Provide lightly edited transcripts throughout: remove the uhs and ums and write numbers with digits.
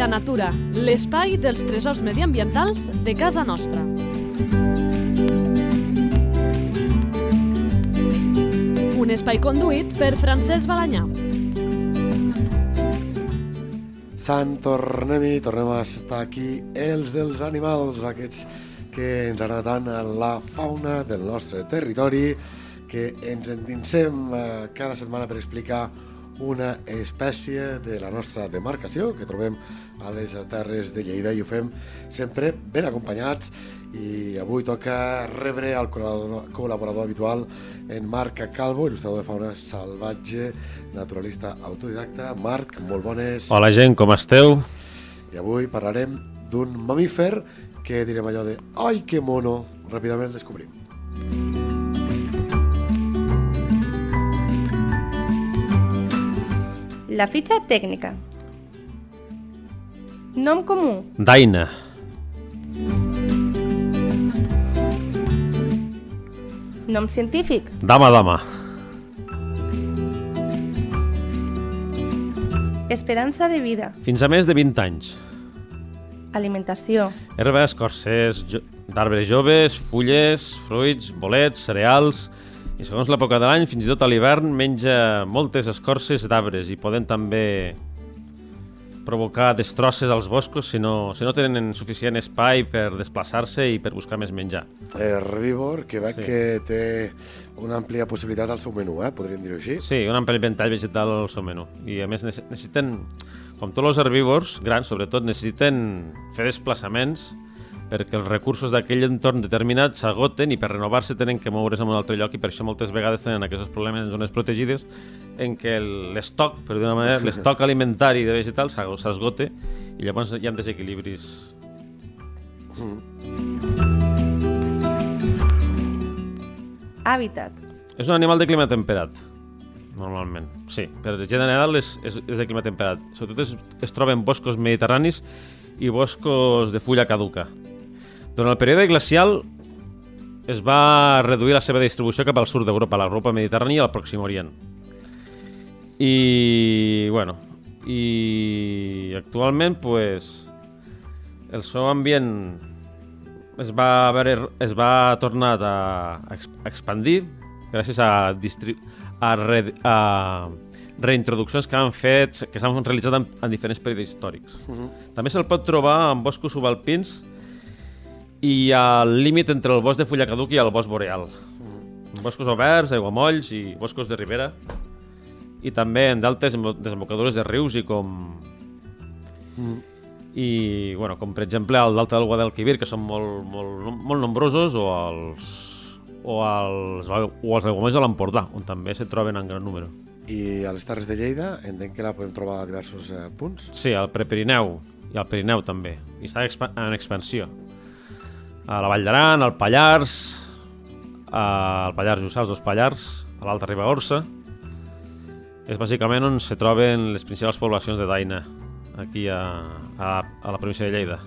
Habita Natura, l'espai dels tresors mediambientals de casa nostra. Un espai conduït per Francesc Balanyà. Tornem a estar aquí, els dels animals, aquests que ens agrada tant la fauna del nostre territori, que ens endinsem cada setmana per explicar una espècie de la nostra demarcació que trobem a les terres de Lleida, i ho fem sempre ben acompanyats. I avui toca rebre el col·laborador habitual, en Marc Calvo, il·lustrador de fauna salvatge, naturalista autodidacta. Marc, molt bones. Hola gent, com esteu? I avui parlarem d'un mamífer que direm allò de «Ai, que mono!». Ràpidament el descobrim. La fitxa tècnica. Nom comú. Daina. Nom científic. Dama. Esperança de vida. Fins a més de 20 anys. Alimentació. Herba, escorces d'arbres joves, fulles, fruits, bolets, cereals. I segons l'època de l'any, fins i tot a l'hivern, menja moltes escorces d'arbres i poden també provocar destrosses als boscos si no tenen suficient espai per desplaçar-se i per buscar més menjar. Herbívor, que veig que té una àmplia possibilitat al seu menú, podríem dir-ho així. Sí, un ampli ventall vegetal al seu menú. I a més necessiten, com tots els herbívors grans, sobretot, necessiten fer desplaçaments perquè els recursos d'aquell entorn determinat s'agoten i per renovar-se tenen que moure's en un altre lloc, i per això moltes vegades tenen aquests problemes en zones protegides en què l'estoc, per dir-ho d'una manera, l'estoc alimentari de vegetals s'esgote i llavors hi ha desequilibris. Hàbitat. És un animal de clima temperat, normalment. Sí, per general és de clima temperat. Sobretot es troba en boscos mediterranis i boscos de fulla caduca. Durant el període glacial es va reduir la seva distribució cap al sud d'Europa, a l'Europa mediterrània i al Pròxim Orient. I actualment el seu ambient es va tornar a expandir gràcies a reintroduccions que s'han realitzat en diferents períodes històrics. També se'l pot trobar en boscos subalpins i al límit entre el bosc de fulla caduca i el bosc boreal. Boscos oberts, aiguamolls i boscos de ribera, i també en d'altes desembocadures de rius com per exemple al Delta del Guadalquivir, que són molt nombrosos, o els aiguamolls de l'Empordà, on també se troben en gran número. I a les Terres de Lleida entenc que la podem trobar a diversos punts? Sí, al Prepirineu i al Pirineu també, i està en expansió. A la Vall d'Aran, al Pallars, Jussà, els dos Pallars, a l'Alta Ribagorça. És bàsicament on se troben les principals poblacions de daina, aquí a la província de Lleida.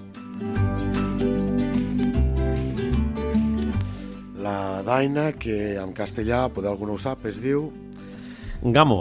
La daina, que en castellà, potser algú no ho sap, es diu... Gamo.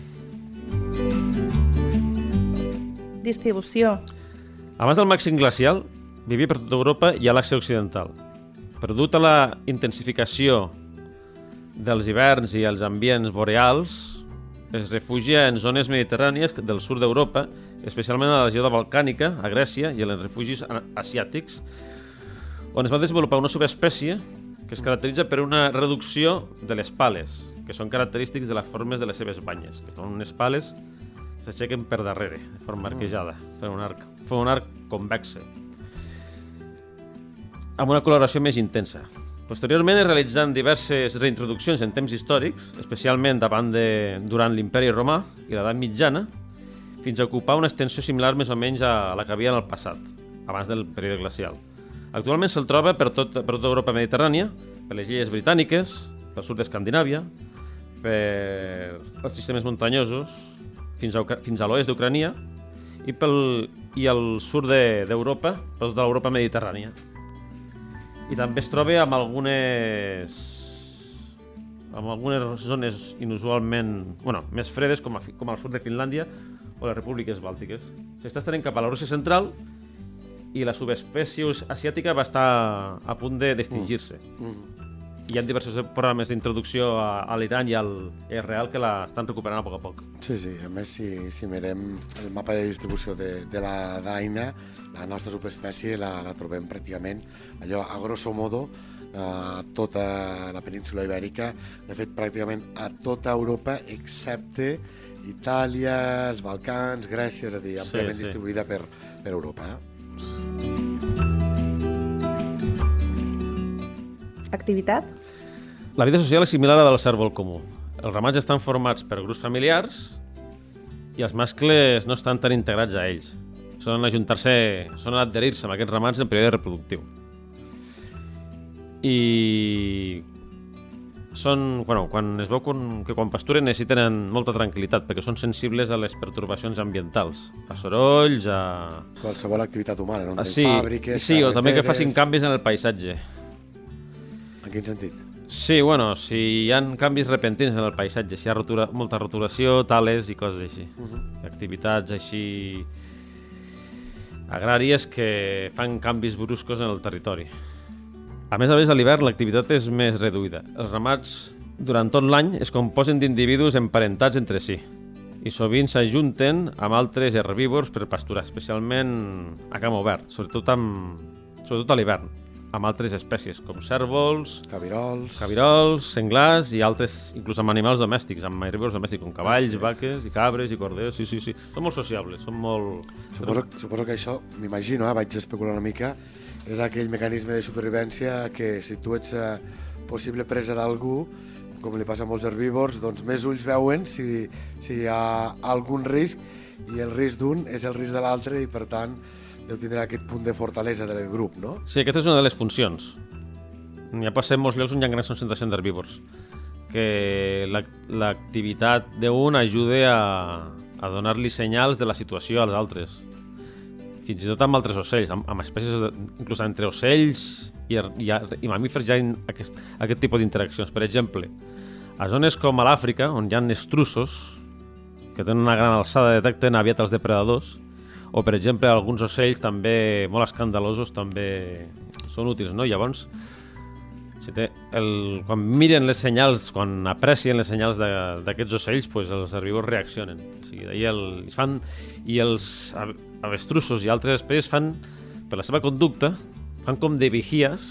Distribució. Abans del màxim glacial, vivia per tota Europa i a l'Àsia Occidental. Però dut a la intensificació dels hiverns i els ambients boreals, es refugia en zones mediterrànies del sud d'Europa, especialment a la regió balcànica, a Grècia, i en els refugis asiàtics, on es va desenvolupar una subespècie que es caracteritza per una reducció de les pales, que són característics de les formes de les seves banyes, que són unes pales que s'aixequen per darrere, de forma arquejada, fent un arc convexe, amb una coloració més intensa. Posteriorment es realitzen diverses reintroduccions en temps històrics, especialment durant l'Imperi Romà i l'Edat Mitjana, fins a ocupar una extensió similar més o menys a la que havia en el passat, abans del període glacial. Actualment se'l troba per tota Europa mediterrània, per les illes britàniques, pel sud d'Escandinàvia, per els sistemes muntanyosos, fins a l'oest d'Ucrània i al sud d'Europa, per tota l'Europa mediterrània. I també es troba amb algunes zones inusualment més fredes, com al sud de Finlàndia o les repúbliques bàltiques. S'està estenent cap a la Rússia central i la subespècie asiàtica va estar a punt d'extingir-se. Hi ha diversos programes d'introducció a l'Iran i al Israel que l'estan recuperant a poc a poc. Sí, a més, si mirem el mapa de distribució de la daina, la nostra subespècie la trobem pràcticament allò a grosso modo a tota la península ibèrica, de fet pràcticament a tota Europa excepte Itàlia, els Balcans, Grècia, és a dir, àmpliament distribuïda per Europa. Activitat? La vida social és similar a la del cérvol comú. Els ramats estan formats per grups familiars i els mascles no estan tan integrats a ells. Solen ajuntar-se, solen adherir-se amb aquests ramats en període reproductiu. I són, quan es veu que quan pasturen necessiten molta tranquil·litat perquè són sensibles a les pertorbacions ambientals, a sorolls, a... Qualsevol activitat humana, no? Fàbriques, sí, o també que facin canvis en el paisatge. En quin sentit? Sí, si hi ha canvis repentins en el paisatge, si hi ha molta roturació, tales i coses així. Activitats així agràries que fan canvis bruscos en el territori. A més, a l'hivern l'activitat és més reduïda. Els ramats, durant tot l'any, es composen d'individus emparentats entre si i sovint s'ajunten amb altres herbívors per pasturar, especialment a camp obert, sobretot a l'hivern, amb altres espècies, com cérvols, cabirols, senglars i altres, inclús amb animals domèstics, amb herbívors domèstics, com cavalls, vaques, i cabres, i corders, sí. Són molt sociables, són molt... Suposo que això, m'imagino, vaig especular una mica, és aquell mecanisme de supervivència que si tu ets possible presa d'algú, com li passa a molts herbívors, doncs més ulls veuen si hi ha algun risc i el risc d'un és el risc de l'altre i per tant deu tindre aquest punt de fortalesa del grup, no? Sí, aquesta és una de les funcions. N'hi ha passat en molts llocs on hi ha grans concentracions d'herbívors, que l'activitat d'un ajuda a donar-li senyals de la situació als altres. Fins i tot amb altres ocells, amb espècies, inclús entre ocells i mamífers hi ha aquest tipus d'interaccions. Per exemple, a zones com a l'Àfrica, on hi ha estruços, que tenen una gran alçada, detecten aviat els depredadors, o per exemple alguns ocells també molt escandalosos també són útils, no? Llavors, quan miren les senyals, quan aprecien les senyals d'aquests ocells, els herbívors reaccionen. I els avestrussos i altres espècies fan, per la seva conducta, fan com de vigies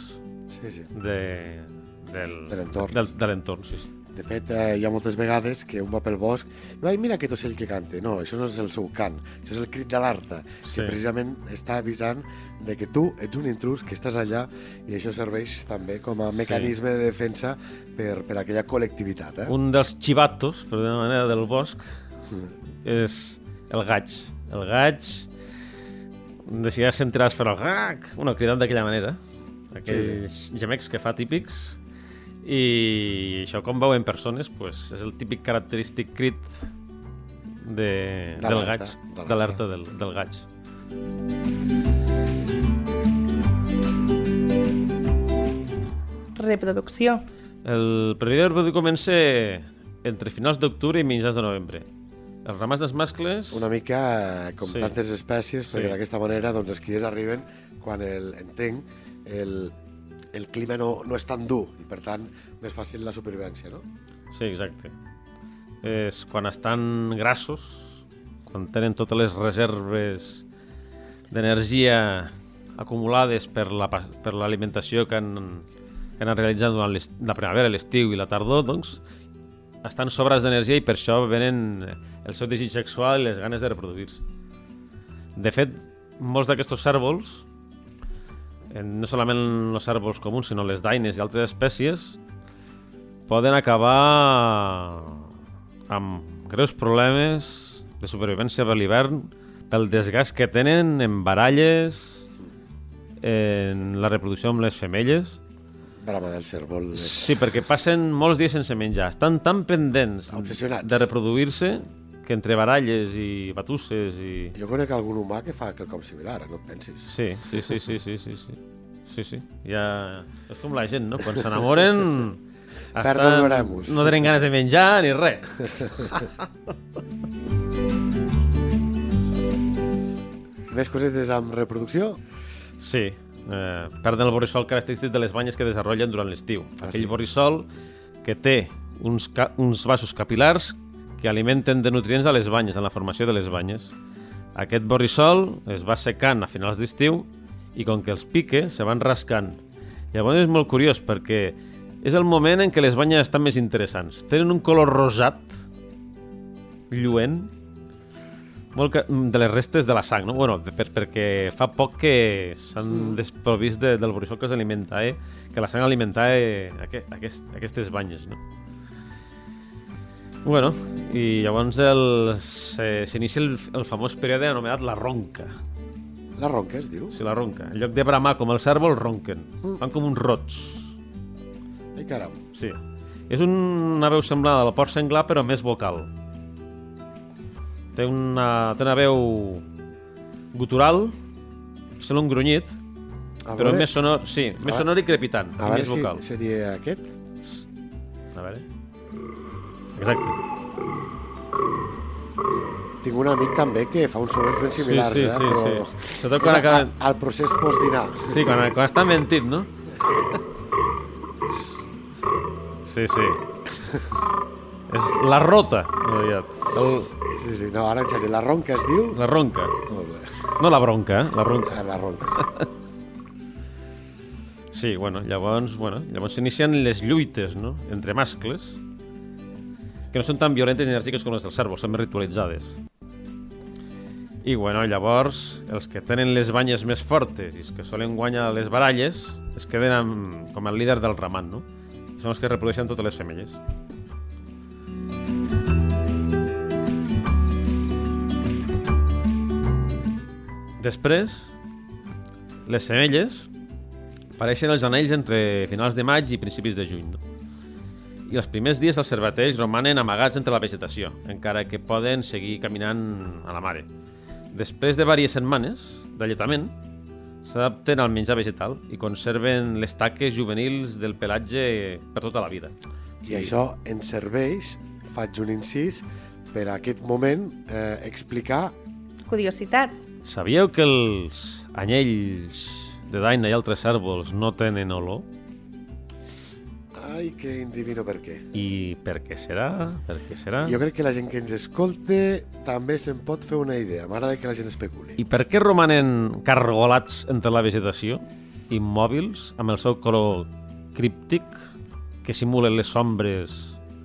de l'entorn. De fet, hi ha moltes vegades que un va pel bosc i mira aquest ocell que canta. No, això no és el seu cant, això és el crit d'alerta, que precisament està avisant de que tu ets un intrus, que estàs allà, i això serveix també com a mecanisme de defensa per aquella col·lectivitat. Un dels xivatos, per d'una manera, del bosc és el gaig. El gaig, si ja sentiràs fer el gac, cridant d'aquella manera, aquells gemecs que fa típics. I això, com veuen persones, és el típic característic crit del gaig, d'alerta del gaig. Reproducció. El període reproductiu comença entre finals d'octubre i mitjans de novembre. Els ramats dels mascles... Una mica com tantes espècies, perquè d'aquesta manera els criers arriben quan el clima no és tan dur i, per tant, més fàcil la supervivència, no? Sí, exacte. És quan estan grassos, quan tenen totes les reserves d'energia acumulades per l'alimentació que han realitzat durant la primavera, l'estiu i la tardor, doncs, estan sobrats d'energia i per això venen el seu desig sexual i les ganes de reproduir-se. De fet, molts d'aquests cérvols, no solament els cérvols comuns, sinó les daines i altres espècies, poden acabar amb greus problemes de supervivència per l'hivern pel desgast que tenen en baralles, en la reproducció amb les femelles. Brama del cérvol. Sí, perquè passen molts dies sense menjar. Estan tan pendents de reproduir-se que entre baralles i batusses i... Jo conec algun humà que fa quelcom similar, no et pensis? Sí. Ja... És com la gent, no? Quan s'enamoren... No tenen ganes de menjar ni res. Més cosetes amb reproducció? Sí, perden el borrissol característic de les banyes que desenvolupen durant l'estiu. Aquell borrissol que té uns vasos capilars que alimenten de nutrients a les banyes, en la formació de les banyes. Aquest borrissol es va secant a finals d'estiu i com que els pique, se van rascant. Llavors és molt curiós perquè és el moment en què les banyes estan més interessants. Tenen un color rosat, lluent, molt de les restes de la sang, no? Bueno, perquè fa poc que s'han desprovist del borrissol que s'alimenta, que la sang alimentava aquestes banyes, no? Bueno, i llavors s'inicia el famós període anomenat la ronca. La ronca es diu? Sí, la ronca. En lloc de bramar com els cérvols, ronquen. Fan com uns rots. Ai, caram. Sí. És una veu semblant al porc senglar, però més vocal. Té una veu gutural, sembla un grunyit, però més sonor, sí, més sonor i crepitant, i més vocal. A veure si seria aquest. A veure. Exacte. Tinc un amic també que fa uns sorolls ben similars, sí, però sí. Sobretot quan acaba... al procés postdinar. Sí, quan està mentint, no? Sí. És la rota. Sí, no, ara en sèrio, la ronca es diu? La ronca. Molt bé. No la bronca, la ronca. La ronca. Sí, llavors s'inicien les lluites, no?, entre mascles, que no són tan violentes i enèrgiques com les dels cérvols, són més ritualitzades. I llavors els que tenen les banyes més fortes i els que solen guanyar les baralles es queden com el líder del ramat, no? I són els que reprodueixen totes les femelles. Després, les femelles apareixen els anells entre finals de maig i principis de juny, no? I els primers dies els cervatells romanen amagats entre la vegetació, encara que poden seguir caminant a la mare. Després de diverses setmanes d'alletament, s'adapten al menjar vegetal i conserven les taques juvenils del pelatge per tota la vida. I això ens serveix, faig un incís, per a aquest moment explicar... Curiositats. Sabíeu que els anyells de daina i altres cérvols no tenen olor? Ai, que endivino per què. I per què serà? Per què serà? Jo crec que la gent que ens escolta també se'n pot fer una idea. M'agrada que la gent especuli. I per què romanen cargolats entre la vegetació, immòbils, amb el seu color críptic, que simulen les ombres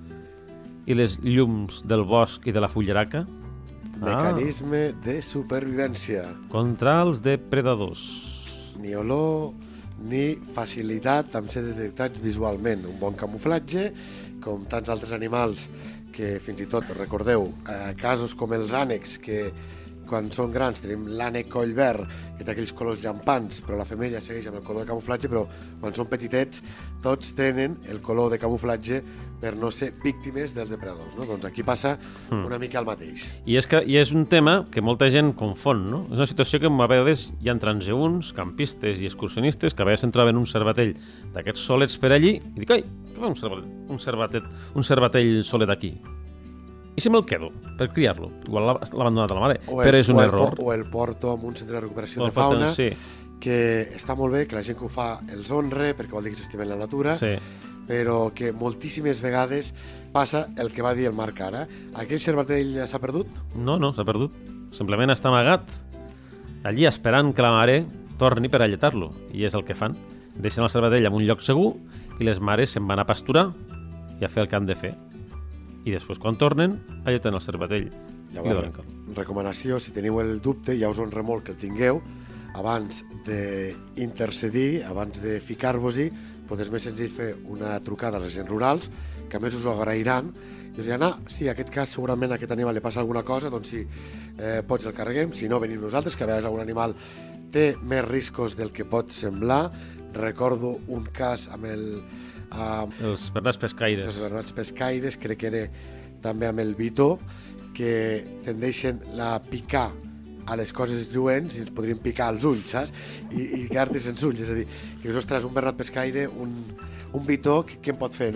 i les llums del bosc i de la fullaraca? Mecanisme de supervivència. Contra els depredadors. Ni olor ni facilitat amb ser detectats visualment. Un bon camuflatge, com tants altres animals que fins i tot, recordeu, casos com els ànecs, que quan són grans tenim l'ànec coll verd, que té aquells colors llampants, però la femella segueix amb el color de camuflatge, però quan són petitets tots tenen el color de camuflatge per no ser víctimes dels depredadors, no? Doncs aquí passa una mica el mateix. I és un tema que molta gent confon, no? És una situació que a vegades hi ha transeünts, campistes i excursionistes que a vegades se'n troben un cervatell d'aquests solets per allí i dic, ai, què fa un cervatell solet aquí? I si me'l quedo per criar-lo? Igual l'ha abandonat a la mare, però és un error. O el porto en un centre de recuperació de fauna, sí, que està molt bé, que la gent que ho fa els honre, perquè vol dir que s'estimen la natura, sí, però que moltíssimes vegades passa el que va dir el Marc ara. Aquell cervatell s'ha perdut? No, s'ha perdut. Simplement està amagat allí esperant que la mare torni per alletar-lo. I és el que fan. Deixen el cervatell en un lloc segur i les mares se'n van a pasturar i a fer el que han de fer. I després, quan tornen, alleten el cervatell. Llavors, recomanació, si teniu el dubte, ja us honra molt que el tingueu, abans d'intercedir, abans de ficar-vos-hi, és més senzill fer una trucada a les agents rurals, que a més us ho agrairan, i us diran, sí, en aquest cas segurament a aquest animal li passa alguna cosa, doncs sí, pots el carreguem, si no, venim nosaltres, que a vegades algun animal té més riscos del que pot semblar. Recordo un cas amb els bernats pescaires. Els bernats pescaires, crec que era també amb el bitó, que tendeixen a picar a les coses lluents i ens podrien picar als ulls, saps? I quedar-te sense ulls. És a dir, que ostres, un bernat pescaire, un bitó, què em pot fer, no?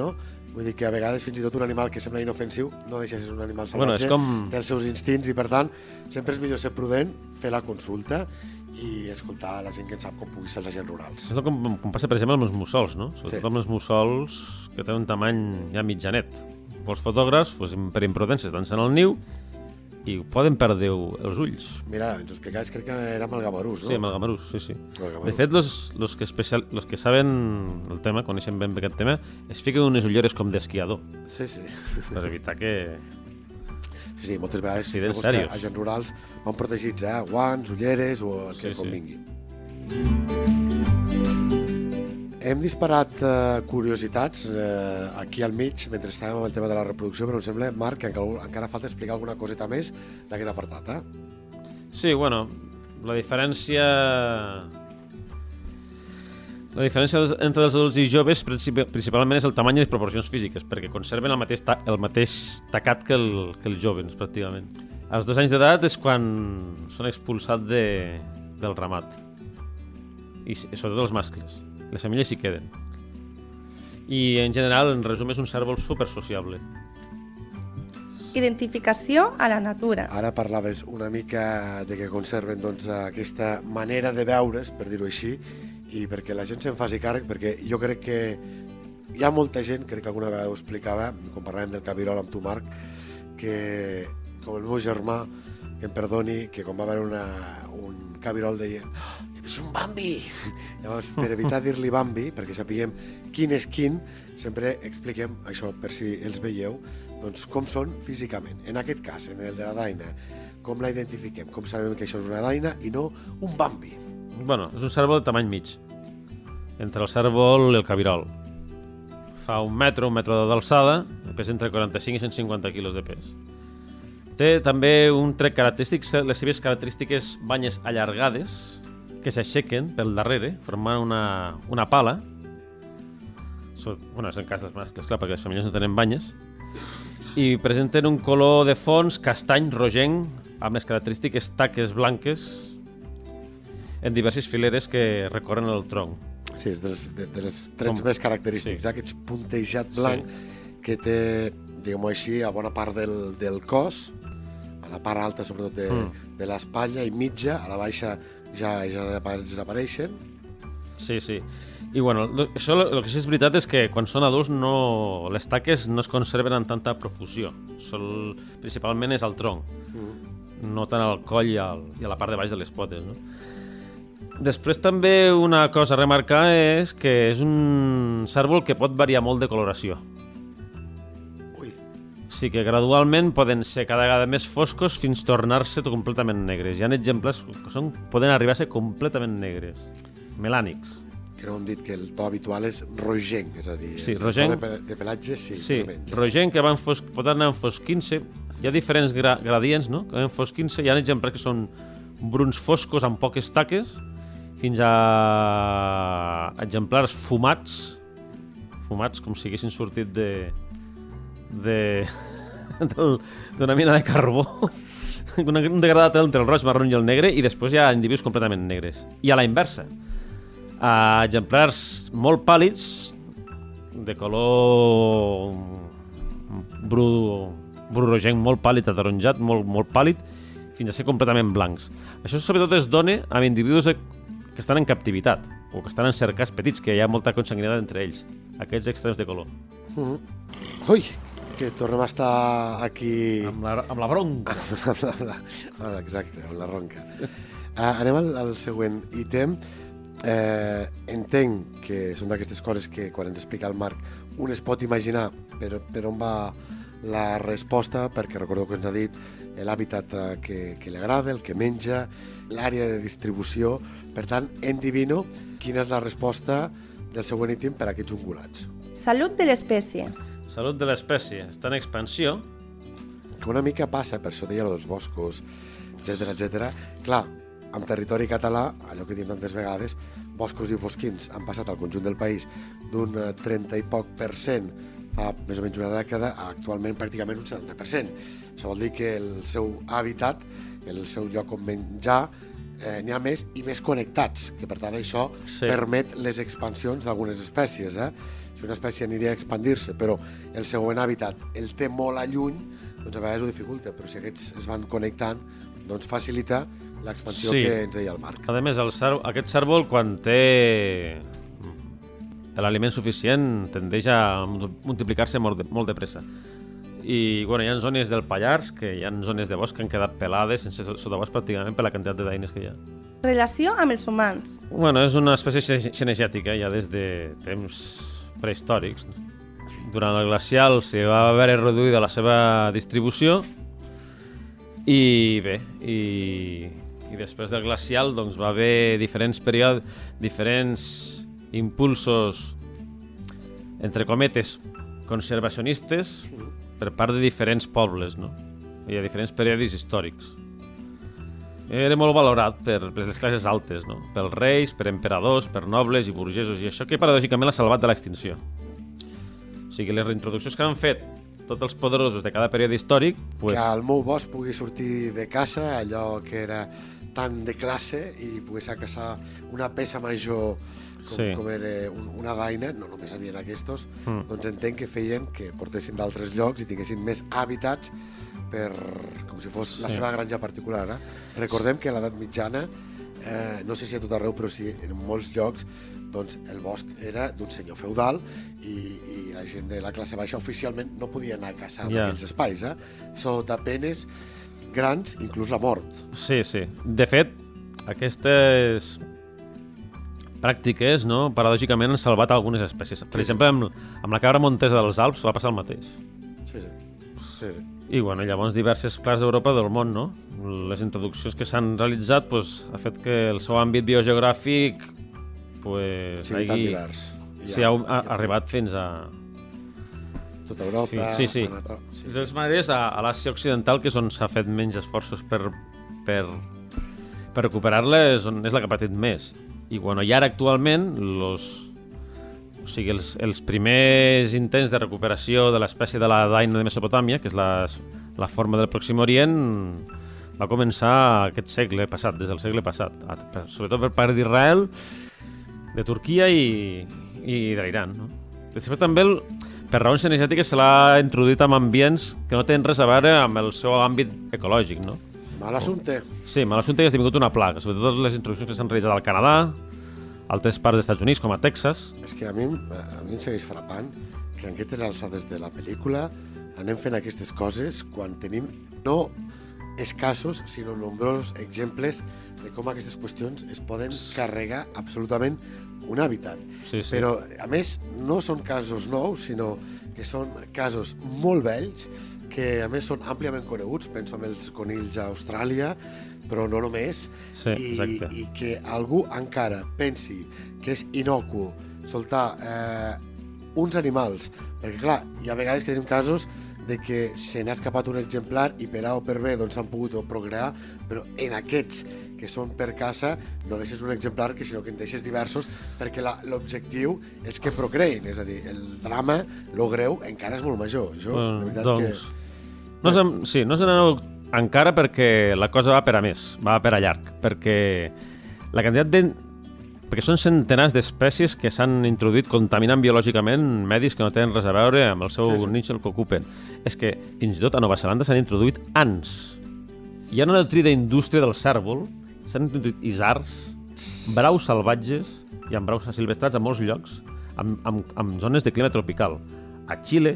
Vull dir que a vegades fins i tot un animal que sembla inofensiu no deixa de ser un animal Bueno, salvatge, és com- té els seus instints i per tant sempre és millor ser prudent, fer la consulta i escoltar la gent que en sap com pugui ser els agents rurals. És com passa, per exemple, amb els mussols, no? Sobretot amb els mussols que tenen un tamany ja mitjanet. Els fotògrafs, per imprudència, estan en el niu i poden perdre els ulls. Mira, ens ho explicaves, crec que era amb el gamarús, no? Sí, amb el gamarús, sí. El gamarús. De fet, los que saben el tema, coneixen ben aquest tema, es fiquen unes ulleres com d'esquiador, Sí, sí. per evitar que... Sí, moltes vegades Accidents segons que serios. agents rurals van protegits, guants, ulleres o el que Sí, sí. convingui. Hem disparat curiositats aquí al mig mentre estàvem amb el tema de la reproducció, però em sembla, Marc, que encara falta explicar alguna coseta més d'aquest apartat, Sí, bueno, la diferència entre els adults i joves principalment és el tamany i les proporcions físiques, perquè conserven el mateix tacat que els joves, pràcticament. Als 2 anys d'edat és quan són expulsats del ramat, i sobretot els mascles. Les femelles s'hi queden. I en general, en resum, és un cérvol super sociable. Identificació a la natura. Ara parlaves una mica de que conserven doncs, aquesta manera de veure's, per dir-ho així, i perquè la gent se'n faci càrrec, perquè jo crec que hi ha molta gent, crec que alguna vegada ho explicava, quan parlàvem del cabirol amb tu, Marc, que, com el meu germà, que em perdoni, que quan va veure un cabirol deia és un Bambi! Llavors, per evitar dir-li Bambi, perquè sapiguem quin és quin, sempre expliquem això, per si els veieu, doncs com són físicament. En aquest cas, en el de la daina, com la identifiquem, com sabem que això és una daina i no un Bambi. Bueno, és un cérvol de tamany mig, entre el cérvol i el cabirol. Fa un metre d'alçada, pesa entre 45 i 150 quilos de pes. Té també un tret característic, les seves característiques banyes allargades, que s'aixequen pel darrere, formant una pala. Bueno, és en cas dels mascles, clar, perquè les femelles no tenen banyes. I presenten un color de fons castany rogenc, amb les característiques taques blanques en diverses fileres que recorren el tronc. Sí, és dels trets més característics, aquest puntejat blanc que té, diguem-ho així, a bona part del cos, a la part alta sobretot de l'espatlla i mitja, a la baixa ja desapareixen. Sí. I bueno, això el que sí és veritat és que quan són adults les taques no es conserven en tanta profusió. Principalment és al tronc, no tant al coll i a la part de baix de les potes, no? Després també una cosa a remarcar és que és un cérvol que pot variar molt de coloració. Sí que gradualment poden ser cada vegada més foscos fins a tornar-se completament negres. Hi ha exemples que poden arribar a ser completament negres, melànics. Que no hem dit que el to habitual és rogenc, és a dir, rogenc, el to de pelatge sí, sí, més o menys. Rogenc que pot anar enfosquint-se. Hi ha diferents gradients, no?, que van enfosquint-se. Hi ha exemples que són bruns foscos amb poques taques, fins a exemplars fumats com si haguessin sortit d'una mina de carbó, un degradat entre el roig, marró i el negre, i després hi ha individus completament negres. I a la inversa, exemplars molt pàl·lids, de color bru rogenc, molt pàl·lid, ataronjat, molt pàl·lid, fins a ser completament blancs. Això sobretot es dona amb individus que estan en captivitat o que estan en cercars petits, que hi ha molta consanguinitat entre ells, aquests extrems de color. Ui, que tornem a estar aquí... Amb la bronca. Exacte, amb la ronca. Anem al següent ítem. Entenc que són d'aquestes coses que quan ens explica el Marc un es pot imaginar per on va la resposta, perquè recordeu que ens ha dit l'hàbitat que li agrada, el que menja, l'àrea de distribució. Per tant, endivino quina és la resposta del següent ítem per a aquests ungulats. Salut de l'espècie. Salut de l'espècie. Està en expansió. Que una mica passa, per això deia dels boscos, etc. Clar, en territori català, allò que diem tantes vegades, boscos i bosquins han passat al conjunt del país d'un 30 i poc % fa més o menys una dècada a actualment pràcticament un 70%. Això vol dir que el seu hàbitat, el seu lloc on menjar, n'hi ha més i més connectats, que per tant això permet les expansions d'algunes espècies. Si una espècie aniria a expandir-se, però el següent hàbitat el té molt a lluny, doncs a vegades ho dificulta, però si aquests es van connectant, doncs facilita l'expansió que ens deia el Marc. A més, aquest cérvol, quan té l'aliment suficient, tendeix a multiplicar-se molt de pressa. I hi ha zones del Pallars, que hi ha zones de bosc que han quedat pelades, sense sotabosc pràcticament per la quantitat de daines que hi ha. Relació amb els humans. És una espècie cinegètica ja des de temps prehistòrics. Durant el glacial se va haver reduïda la seva distribució i bé, i després del glacial doncs, va haver diferents períodes, diferents impulsos, entre cometes, conservacionistes per part de diferents pobles, no? Hi ha diferents períodes històrics. Era molt valorat per les classes altes, no? Pels reis, per emperadors, per nobles i burgesos, i això que paradògicament l'ha salvat de l'extinció. O sigui, les reintroduccions que han fet tots els poderosos de cada període històric... Que el meu bosc pugui sortir de casa, allò que era tan de classe, i pogués caçar una peça major com era una daina, no només havien aquests, doncs entenc que feien que portessin d'altres llocs i tinguessin més hàbitats com si fos la seva granja particular. Recordem que a l'edat mitjana, no sé si a tot arreu, però sí en molts llocs, doncs el bosc era d'un senyor feudal i la gent de la classe baixa oficialment no podia anar a caçar en aquells espais, sota penes grans, inclús la mort. Sí. De fet, aquestes pràctiques, no, paradògicament han salvat algunes espècies. Per exemple, amb la cabra montesa dels Alps va passar el mateix. Sí. I llavors diverses parts d'Europa del món, no? Les introduccions que s'han realitzat ha fet que el seu àmbit biogeogràfic ha arribat fins a tota Europa. Sí. De totes maneres, a l'Àsia Occidental, que és on s'ha fet menys esforços per recuperar-les, és la que ha patit més. I ara actualment els primers intents de recuperació de l'espècie de la daina de Mesopotàmia, que és la forma del Pròxim Orient, va començar aquest segle passat, des del segle passat, sobretot per part d'Israel, de Turquia i de l'Iran. Després també, per raons cinegètiques, se l'ha introduït en ambients que no tenen res a veure amb el seu àmbit ecològic, no? Mal assumpte. Sí, mal assumpte, que ha esdevingut una plaga, sobretot les introduccions que s'han realitzat al Canadà, altres parts dels Estats Units, com a Texas. És que a mi em segueix frapant que en aquestes alçades de la pel·lícula anem fent aquestes coses quan tenim no escassos, sinó nombrosos exemples de com aquestes qüestions es poden carregar absolutament un hàbitat. Sí. Però, a més, no són casos nous, sinó que són casos molt vells, que a més són àmpliament coneguts, penso en els conills a Austràlia, però no només, i que algú encara pensi que és innocu soltar uns animals, perquè clar, hi ha vegades que tenim casos de que se n'ha escapat un exemplar i per A o per B doncs s'han pogut procrear, però en aquests que són per caça no deixes un exemplar, sinó que en deixes diversos, perquè l'objectiu és que procreïn, és a dir, el drama, lo greu, encara és molt major. Jo, de veritat que... No se n'aneu encara perquè la cosa va per a més, va per a llarg, perquè la quantitat perquè són centenars d'espècies que s'han introduït contaminant biològicament medis que no tenen res a veure amb el seu nínxol que ocupen. És que fins i tot a Nova Zelanda s'han introduït ants. Hi ha una nutrida indústria del cérvol, s'han introduït isards, braus salvatges i amb braus silvestrats a molts llocs, amb zones de clima tropical. A Xile,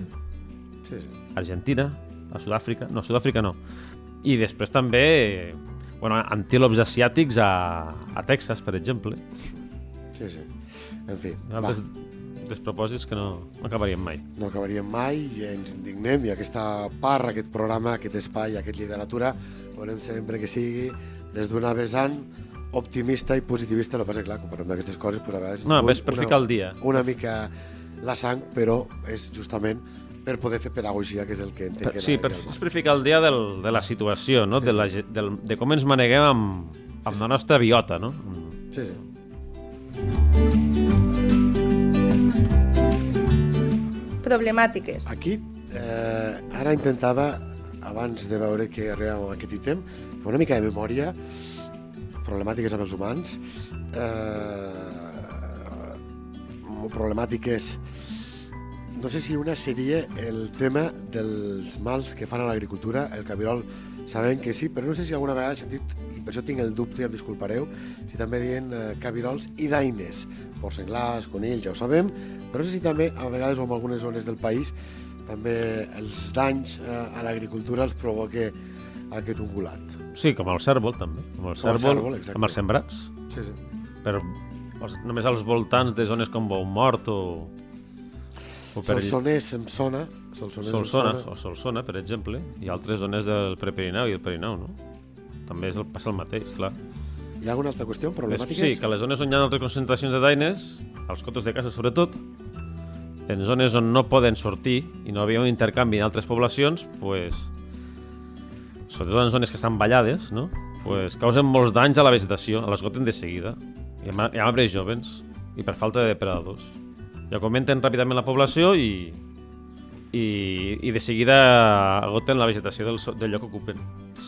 Argentina, a Sud-àfrica no. I després també antílops asiàtics a Texas, per exemple. Sí. En fi, altres despropòsits que no acabaríem mai. No acabaríem mai i ens indignem, i aquesta part, aquest programa, aquest espai, aquest literatura, volem sempre que sigui des d'una vessant optimista i positivista. El que passa és que, clar, quan parlem d'aquestes coses, a vegades... No, és per ficar el dia. Una mica la sang, però és justament per poder fer pedagogia, que és el que entenc que... Sí, és per ficar el dia de la situació, no? De com ens maneguem amb la nostra biota, no? Sí. Problemàtiques. Aquí, ara intentava, abans de veure que arribàvem a aquest ítem, fer una mica de memòria problemàtiques amb els humans, problemàtiques... No sé si una seria el tema dels mals que fan a l'agricultura, el cabirol, sabem que sí, però no sé si alguna vegada he sentit, i per això tinc el dubte, em disculpareu, si també diuen cabirols i daines, porcs senglars, conills, ja ho sabem, però no sé si també, a vegades o en algunes zones del país, també els danys a l'agricultura els provoca aquest ungulat. Sí, com el cèrvol, també. Com el cèrvol, amb els sembrats. Sí, sí. Però només als voltants de zones com Boumort o Solsonès em sona. Solsona, per exemple, i altres zones del Prepirineu i el Pirineu, no? També passa el mateix, clar. Hi ha alguna altra qüestió? Problemàtiques? Sí, que les zones on hi ha altres concentracions de daines, als cotos de casa sobretot, en zones on no poden sortir i no havia un intercanvi en altres poblacions, pues, sobretot en zones que estan ballades, no? Pues, causen molts danys a la vegetació, a l'esgoten de seguida, i amb arbres jovens, i per falta de depredadors. Ja augmenten ràpidament la població i de seguida agoten la vegetació del lloc que ocupen.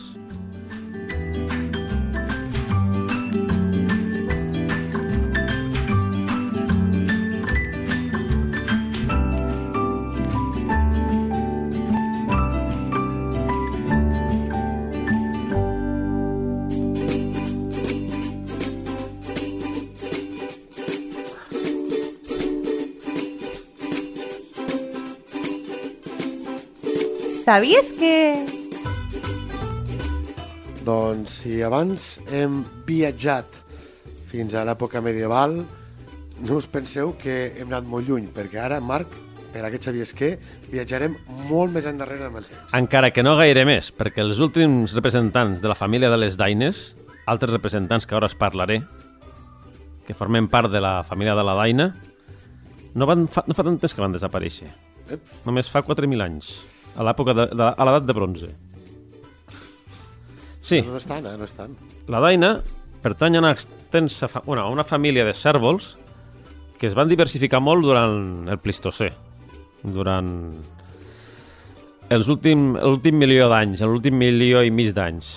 Sabies que... Doncs si abans hem viatjat fins a l'època medieval, no us penseu que hem anat molt lluny, perquè ara, Marc, per a què sabies que viatjarem molt més endarrere amb el temps. Encara que no gaire més, perquè els últims representants de la família de les daines, altres representants que ara us parlaré, que formen part de la família de la daina, no fa tant temps que van desaparèixer. Només fa 4.000 anys. A l'edat de bronze. Sí. No és tant. La daina pertany a una família de cérvols que es van diversificar molt durant el Plistocè, durant l'últim milió d'anys, l'últim milió i mig d'anys.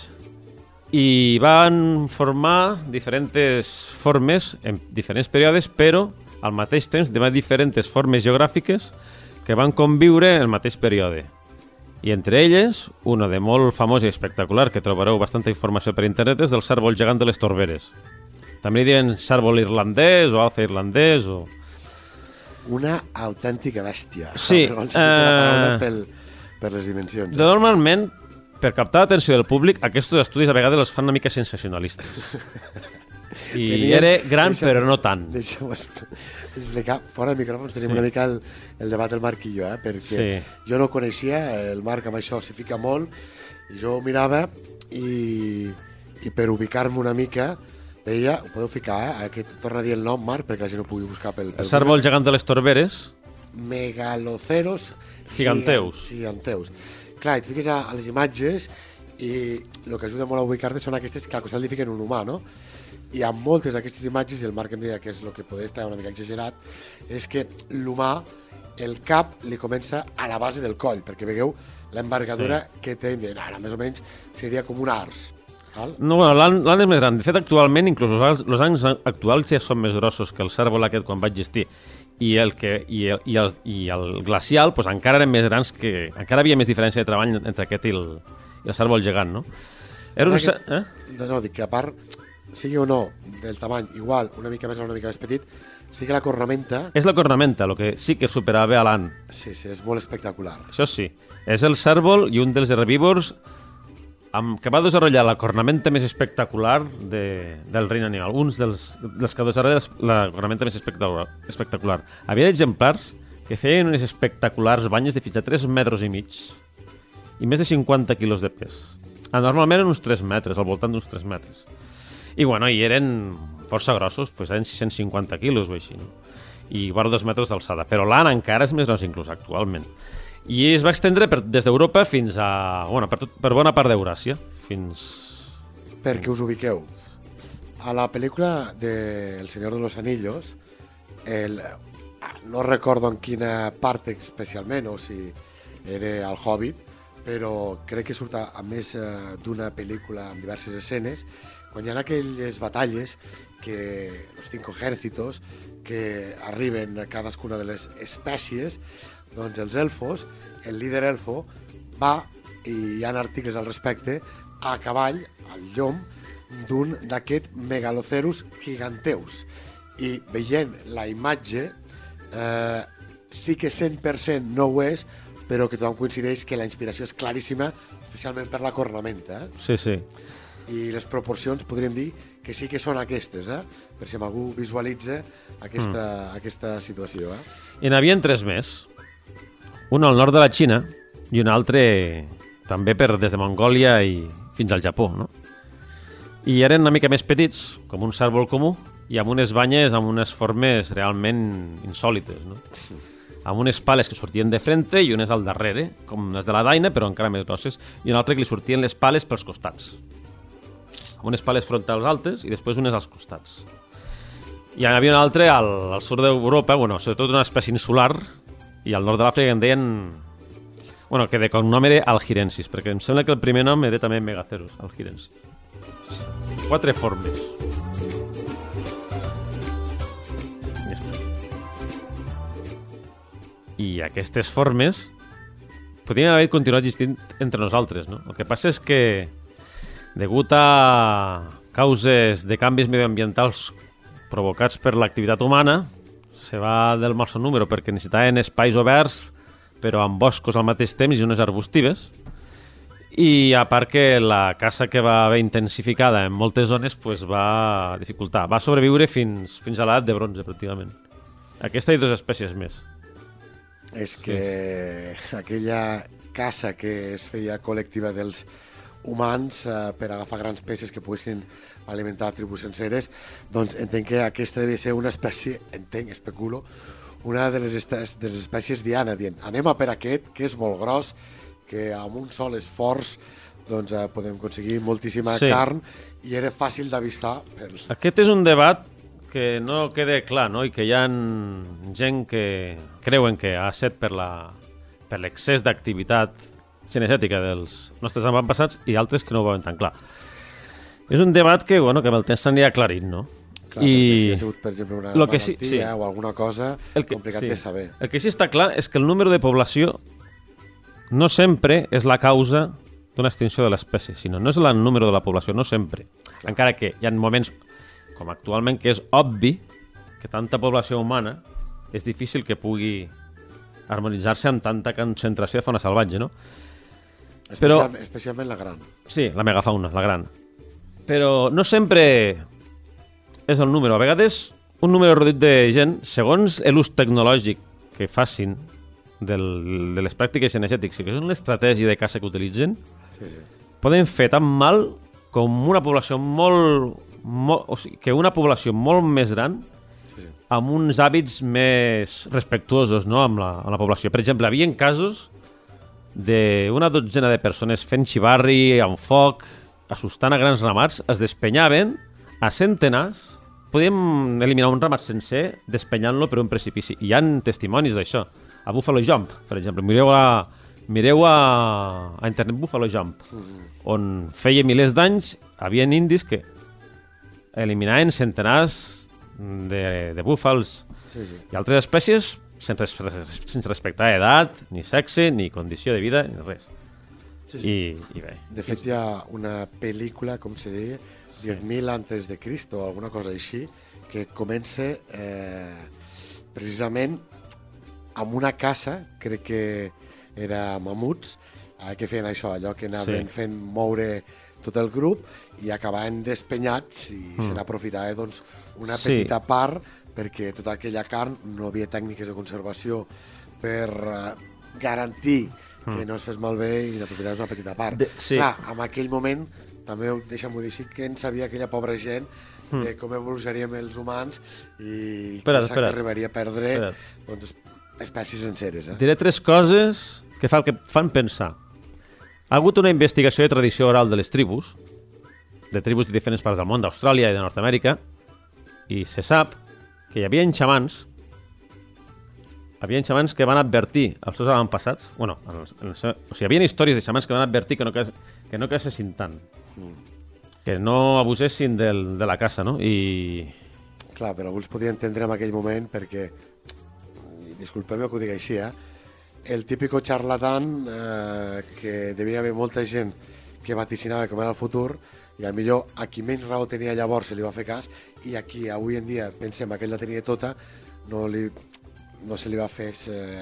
I van formar diferents formes en diferents períodes, però al mateix temps de diferents formes geogràfiques que van conviure en el mateix període. I entre elles, una de molt famosa i espectacular, que trobareu bastanta informació per internet, és del cérvol gegant de les Torberes. També li diuen cérvol irlandès o alce irlandès o... Una autèntica bèstia. Sí. Per les dimensions. Normalment, per captar l'atenció del públic, aquests estudis a vegades els fan una mica sensacionalistes. I era gran, però no tant. Deixa'm explicar. Fora de micròfons tenim una mica el debat del Marc i jo, perquè jo no coneixia, el Marc amb això s'hi fica molt, jo ho mirava i per ubicar-me una mica veia, ho podeu ficar, que torna a dir el nom, Marc, perquè la gent ho pugui buscar pel el cérvol gegant de les Torberes. Megaloceros giganteus. Clar, et fiques a les imatges i el que ajuda molt a ubicar-te són aquestes que al costat li fiquen un humà, no? I amb moltes d'aquestes imatges, i el Marc em deia que és el que podria estar una mica exagerat, és que l'humà, el cap li comença a la base del coll, perquè veieu l'envergadura que té, ara més o menys seria com un ars. No, bueno, l'ant és més gran. De fet, actualment, inclús els ants actuals ja són més grossos que el cérvol aquest quan va existir. I el glacial pues, encara eren més grans, encara havia més diferència de treball entre aquest i el cérvol gegant, no? No, dic que a part, sigui o no del tamany igual, una mica més o una mica més petit, sí que la cornamenta... És la cornamenta, el que sí que supera bé a l'ant. Sí, és molt espectacular. Això sí. És el cérvol i un dels herbívors que va desenvolupar la cornamenta més espectacular del regne animal. Un dels que desenvolupa la cornamenta més espectacular. Havia exemplars que feien unes espectaculars banyes de fins a 3,5 metres i més de 50 quilos de pes. Normalment eren uns 3 metres, al voltant d'uns 3 metres. I bueno, i eren força grossos, eren 650 quilos o així, no? I vora 2 metres d'alçada. Però l'ant encara és més gros inclús actualment. I es va extendre des d'Europa fins a... Bueno, per bona part d'Euràsia. Perquè us ubiqueu. A la pel·lícula de El Señor de los Anillos, no recordo en quina part especialment, o si era el Hobbit, però crec que surt a més d'una pel·lícula amb diverses escenes, quan hi ha aquelles batalles que los 5 ejércitos que arriben a cadascuna de les espècies, doncs els elfos, el líder elfo va, i hi ha articles al respecte, a cavall, al llom, d'un d'aquest megalocerus giganteus. I veient la imatge, sí que 100% no ho és, però que tothom coincideix que la inspiració és claríssima, especialment per la cornamenta. Sí, sí. I les proporcions podríem dir que sí que són aquestes, per si algú visualitza aquesta situació. I n'hi havia 3 més. Un al nord de la Xina i un altre també des de Mongòlia i fins al Japó, no? I eren una mica més petits, com un cérvol comú, i amb unes banyes amb unes formes realment insòlites, no? Amb unes pales que sortien de frente i unes al darrere, com les de la daina, però encara més grosses, i un altre que li sortien les pales pels costats. Amb unes pales frontals altes i després unes als costats. I hi havia un altre al sud d'Europa, sobretot una espècie insular, i al nord de l'Àfrica en deien... que de cognom era Algirensis, perquè em sembla que el primer nom era també Megacerus, Algirensis. 4 formes. I aquestes formes podrien haver continuat existint entre nosaltres, no? El que passa és que, degut a causes de canvis medioambientals provocats per l'activitat humana, se va del massa número perquè necessitaven espais oberts, però amb boscos al mateix temps i unes arbustives. I a part que la caça que va haver intensificada en moltes zones pues, va dificultar. Va sobreviure fins a l'edat de bronze, pràcticament. Aquesta i 2 espècies més. És que aquella caça que es feia col·lectiva dels humans per agafar grans peces que poguessin alimentar tribus senceres, doncs entenc que aquesta devia ser una espècie, especulo, una de les espècies diana, dient anem a per aquest, que és molt gros, que amb un sol esforç doncs, podem aconseguir moltíssima carn i era fàcil d'avistar. Aquest és un debat que no queda clar, no? I que hi ha gent que creuen que ha estat per l'excés d'activitat cinegètica dels nostres avantpassats i altres que no ho veuen tan clar. És un debat que amb el temps s'anirà aclarint, no? Clar, si ha sigut, per exemple, una malaltia o alguna cosa complicat de saber. El que sí està clar és que el número de població no sempre és la causa d'una extinció de l'espècie, sinó no és el número de la població, no sempre. Encara que hi ha moments, com actualment, que és obvi que tanta població humana és difícil que pugui harmonitzar-se amb tanta concentració de fauna salvatge, no? Especialment la gran. Sí, la megafauna, la gran. Però no sempre és el número. A vegades, un número reduït de gent, segons l'ús tecnològic que facin de les pràctiques cinegètiques, que és l'estratègia de caça que utilitzen, poden fer tan mal com una població una població molt més gran amb uns hàbits més respectuosos, no? amb la població. Per exemple, hi havia casos d'una dotzena de persones fent xivarri, amb foc, assustant a grans ramats, es despenyaven a centenars. Podíem eliminar un ramat sencer despenyant-lo per un precipici. Hi ha testimonis d'això. A Buffalo Jump, per exemple. Mireu a internet Buffalo Jump, on feia milers d'anys hi havia indis que eliminaven centenars de búfals i altres espècies sense respectar edat, ni sexe, ni condició de vida, ni res. I bé. De fet, hi ha una pel·lícula, com se deia, 10.000 antes de Cristo, o alguna cosa així, que comença precisament amb una caça, crec que era mamuts, que feien això, allò que anaven fent moure tot el grup i acabaven despenyats i se n'aprofitava doncs, una petita part perquè tota aquella carn no havia tècniques de conservació per garantir que no es fes malbé i n'aprofitaves una petita part. Clar, en aquell moment, també deixa'm-ho dir així, que en sabia aquella pobra gent de com evolucionaríem els humans i que arribaria a perdre doncs, espècies senceres. Diré 3 coses que fan pensar. Ha hagut una investigació de tradició oral de les tribus de diferents parts del món, d'Austràlia i de Nord-Amèrica, i se sap que hi havia xamans que van advertir als seus avantpassats, hi havia històries de xamans que van advertir que no caçessin tant. que no abusessin de la caça, no? I... Clar, però algú els podia entendre en aquell moment perquè, disculpeu-me que ho digui així, el típico charlatán que devia haver molta gent que vaticinava com era el futur i al millor a qui menys raó tenia llavors se li va fer cas i a qui avui en dia pensem que ell la tenia tota no se li va fer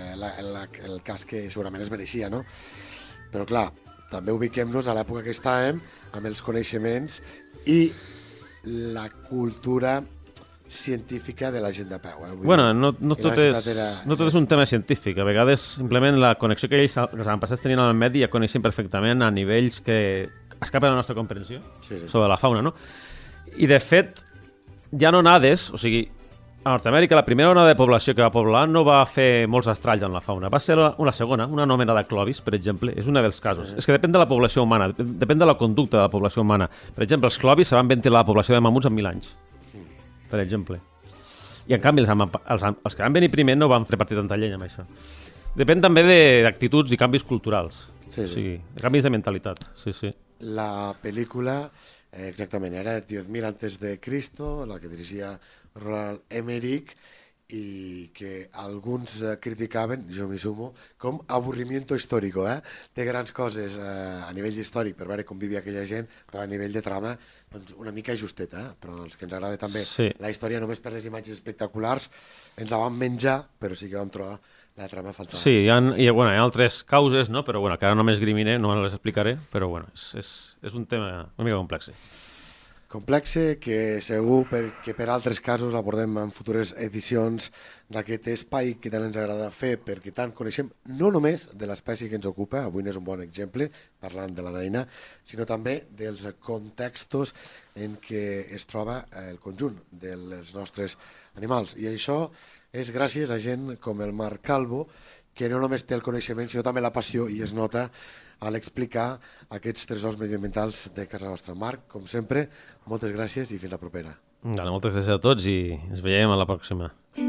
el cas que segurament es mereixia, no? Però clar, també ubiquem-nos a l'època que estàvem amb els coneixements i la cultura científica de la gent de peu. Bueno, no tot és un tema científic. A vegades, simplement, la connexió que ells, els avantpassats tenien amb el medi, ja coneixen perfectament a nivells que escapen a la nostra comprensió sobre la fauna, no? I, de fet, ja no onades, o sigui, a Nord-Amèrica la primera onada de població que va poblar no va fer molts estralls en la fauna. Va ser una segona, una anomenada Clovis, per exemple, és un dels casos. És que depèn de la població humana, depèn de la conducta de la població humana. Per exemple, els Clovis se van ventilar la població de mamuts en 1.000 anys, per exemple. I, en canvi, els que van venir primer no van repartir tanta llenya amb això. Depèn també d'actituds i canvis culturals. Sí. O sigui, canvis de mentalitat. Sí, sí. La pel·lícula, exactament, era 10.000 antes de Cristo, la que dirigia Roland Emmerich, i que alguns criticaven, jo m'hi sumo, com avorrimiento histórico. Té grans coses a nivell històric per veure com vivia aquella gent, però a nivell de trama doncs una mica justeta, però els que ens agrada també la història només per les imatges espectaculars ens la vam menjar, però sí que vam trobar la trama faltava. Sí, hi ha altres causes, no? Però que ara no m'esgrimine, no les explicaré, però és un tema una mica complex. Complexe que segur que per altres casos abordem en futures edicions d'aquest espai que tant ens agrada fer perquè tant coneixem no només de l'espècie que ens ocupa, avui n'és un bon exemple parlant de la daina, sinó també dels contextos en què es troba el conjunt dels nostres animals. I això és gràcies a gent com el Marc Calvo, que no només té el coneixement sinó també la passió i es nota a l'explicar aquests tresors mediambientals de casa nostra. Marc, com sempre, moltes gràcies i fins la propera. Moltes gràcies a tots i ens veiem a la pròxima.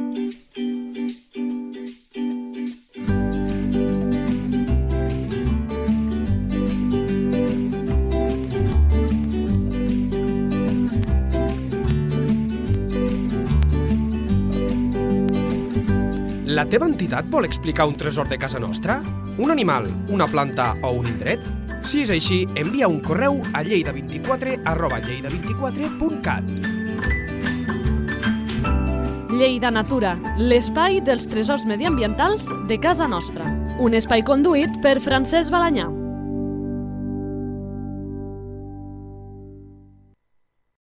La teva entitat vol explicar un tresor de casa nostra? Un animal, una planta o un indret? Si és així, envia un correu a lleida24@lleida24.cat. Lleida Natura, l'espai dels tresors mediambientals de casa nostra. Un espai conduït per Francesc Balanyà.